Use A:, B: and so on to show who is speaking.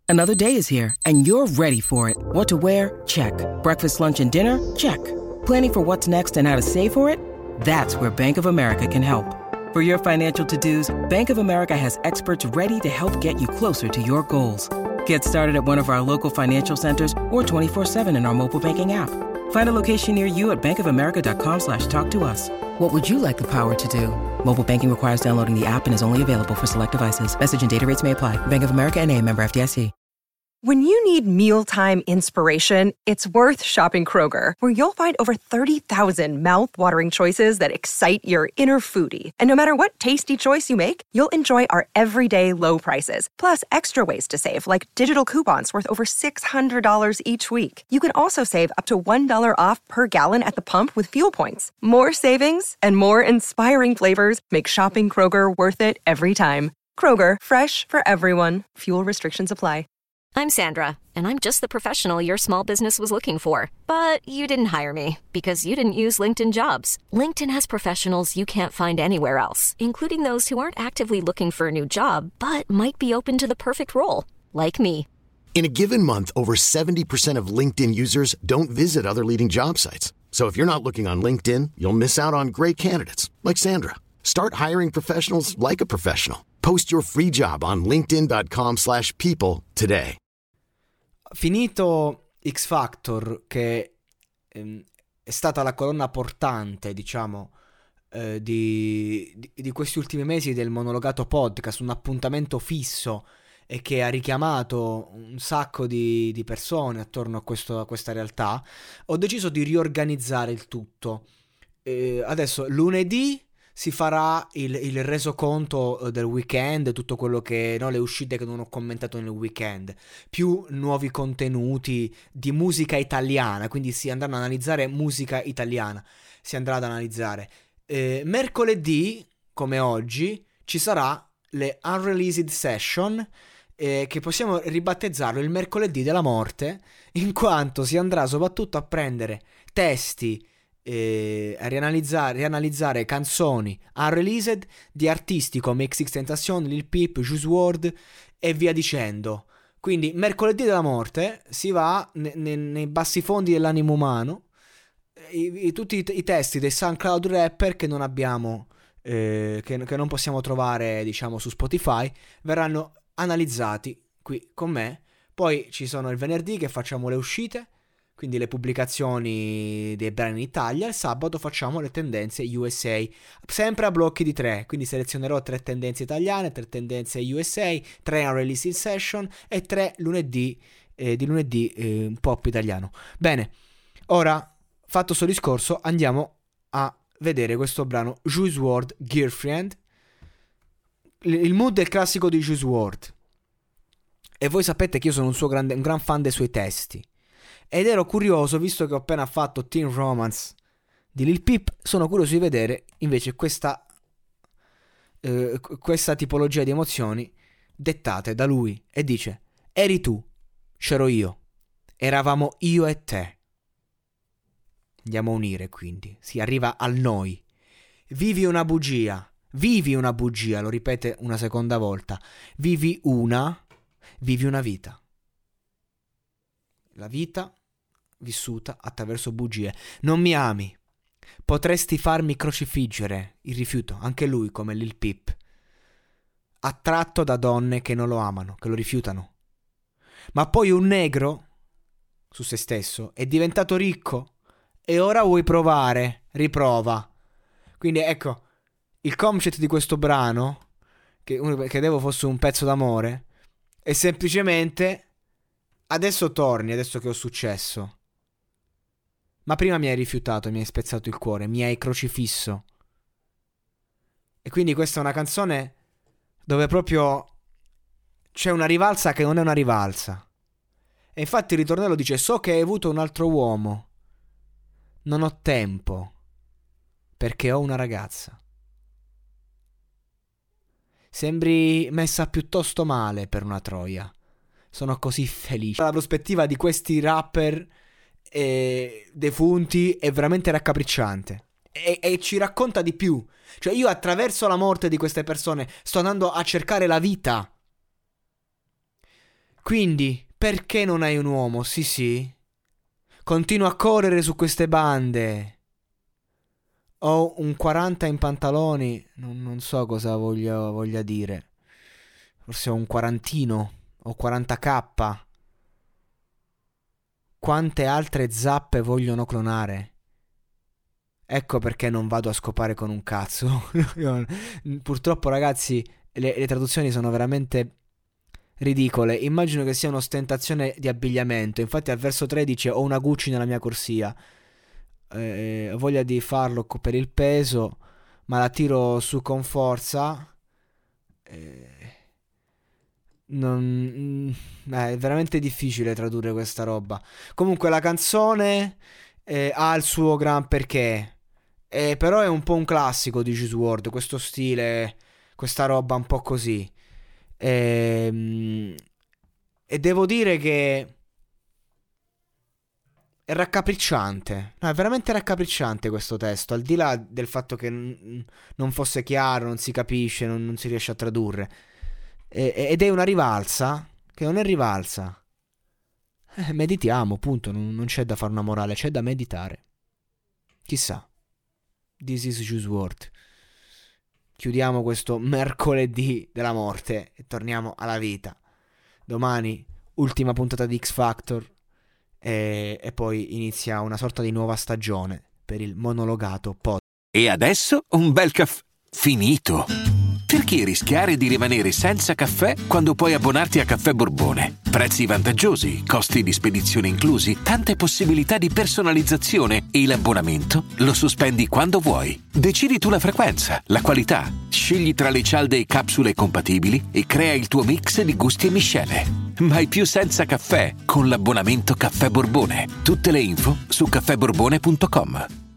A: Another day is here, and you're ready for it. What to wear? Check. Breakfast, lunch, and dinner? Check. Planning for what's next and how to save for it? That's where Bank of America can help. For your financial to-dos, Bank of America has experts ready to help get you closer to your goals. Get started at one of our local financial centers or 24/7 in our mobile banking app. Find a location near you at bankofamerica.com/talktous. What would you like the power to do? Mobile banking requires downloading the app and is only available for select devices. Message and data rates may apply. Bank of America N.A., member FDIC.
B: When you need mealtime inspiration, it's worth shopping Kroger, where you'll find over 30,000 mouth-watering choices that excite your inner foodie. And no matter what tasty choice you make, you'll enjoy our everyday low prices, plus extra ways to save, like digital coupons worth over $600 each week. You can also save up to $1 off per gallon at the pump with fuel points. More savings and more inspiring flavors make shopping Kroger worth it every time. Kroger, fresh for everyone. Fuel restrictions apply.
C: I'm Sandra, and I'm just the professional your small business was looking for. But you didn't hire me because you didn't use LinkedIn Jobs. LinkedIn has professionals you can't find anywhere else, including those who aren't actively looking for a new job, but might be open to the perfect role, like me.
D: In a given month, over 70% of LinkedIn users don't visit other leading job sites. So if you're not looking on LinkedIn, you'll miss out on great candidates, like Sandra. Start hiring professionals like a professional. Post your free job on linkedin.com/people today.
E: Finito X Factor, che è stata la colonna portante, diciamo, di questi ultimi mesi del monologato podcast, un appuntamento fisso e che ha richiamato un sacco di persone attorno a questa realtà, ho deciso di riorganizzare il tutto. Adesso lunedì si farà il resoconto del weekend, tutto quello che, no, le uscite che non ho commentato nel weekend, più nuovi contenuti di musica italiana, quindi si andranno ad analizzare musica italiana, si andrà ad analizzare. Mercoledì, come oggi, ci sarà le Unreleased Session, che possiamo ribattezzarlo il mercoledì della morte, in quanto si andrà soprattutto a prendere testi, a rianalizzare canzoni unreleased di artisti come XXXTentacion, Lil Peep, Juice WRLD e via dicendo. Quindi mercoledì della morte si va nei bassi fondi dell'animo umano, tutti i testi dei SoundCloud rapper che non abbiamo, che non possiamo trovare, diciamo, su Spotify, verranno analizzati qui con me. Poi ci sono il venerdì che facciamo le uscite, quindi le pubblicazioni dei brani in Italia. Il sabato facciamo le tendenze USA, sempre a blocchi di 3, quindi selezionerò 3 tendenze italiane, 3 tendenze USA, 3 unreleased session e 3 lunedì, di lunedì pop italiano. Bene, ora, fatto sto discorso, andiamo a vedere questo brano Juice WRLD, Girlfriend. Il mood è il classico di Juice WRLD, e voi sapete che io sono un gran fan dei suoi testi. Ed ero curioso, visto che ho appena fatto Teen Romance di Lil Peep, sono curioso di vedere invece questa tipologia di emozioni dettate da lui. E dice: eri tu, c'ero io, eravamo io e te. Andiamo a unire, quindi si arriva al noi. Vivi una bugia, lo ripete una seconda volta. Vivi una vita. La vita vissuta attraverso bugie. Non mi ami, potresti farmi crocifiggere. Il rifiuto, anche lui come Lil Peep, attratto da donne che non lo amano, che lo rifiutano. Ma poi un negro su se stesso è diventato ricco e ora vuoi provare, riprova. Quindi ecco, il concept di questo brano, che credevo fosse un pezzo d'amore, è semplicemente: adesso torni, adesso che ho successo. Ma prima mi hai rifiutato, mi hai spezzato il cuore, mi hai crocifisso. E quindi questa è una canzone dove proprio c'è una rivalsa che non è una rivalsa. E infatti il ritornello dice: so che hai avuto un altro uomo, non ho tempo, perché ho una ragazza. Sembri messa piuttosto male per una troia. Sono così felice. La prospettiva di questi rapper defunti è veramente raccapricciante. E ci racconta di più. Cioè, io attraverso la morte di queste persone sto andando a cercare la vita. Quindi, perché non hai un uomo? Sì. Continuo a correre su queste bande. Ho un 40 in pantaloni. Non so cosa voglia dire. Forse ho un quarantino. Ho 40k. Quante altre zappe vogliono clonare? Ecco perché non vado a scopare con un cazzo. Purtroppo, ragazzi, le traduzioni sono veramente ridicole. Immagino che sia un'ostentazione di abbigliamento. Infatti al verso 13 ho una Gucci nella mia corsia. Ho voglia di farlo per il peso, ma la tiro su con forza. È veramente difficile tradurre questa roba. Comunque la canzone ha il suo gran perché. Però è un po' un classico di Juice WRLD, questo stile, questa roba un po' così. E devo dire che è raccapricciante. No, è veramente raccapricciante questo testo, al di là del fatto che non fosse chiaro, non si capisce, non si riesce a tradurre. Ed è una rivalsa che non è rivalsa. Meditiamo, punto. Non c'è da fare una morale, c'è da meditare. Chissà. This is Juice WRLD. Chiudiamo questo mercoledì della morte e torniamo alla vita. Domani ultima puntata di X Factor e poi inizia una sorta di nuova stagione per il monologato pod.
F: E adesso un bel caffè finito. Perché rischiare di rimanere senza caffè quando puoi abbonarti a Caffè Borbone? Prezzi vantaggiosi, costi di spedizione inclusi, tante possibilità di personalizzazione e l'abbonamento lo sospendi quando vuoi. Decidi tu la frequenza, la qualità, scegli tra le cialde e capsule compatibili e crea il tuo mix di gusti e miscele. Mai più senza caffè con l'abbonamento Caffè Borbone. Tutte le info su caffèborbone.com.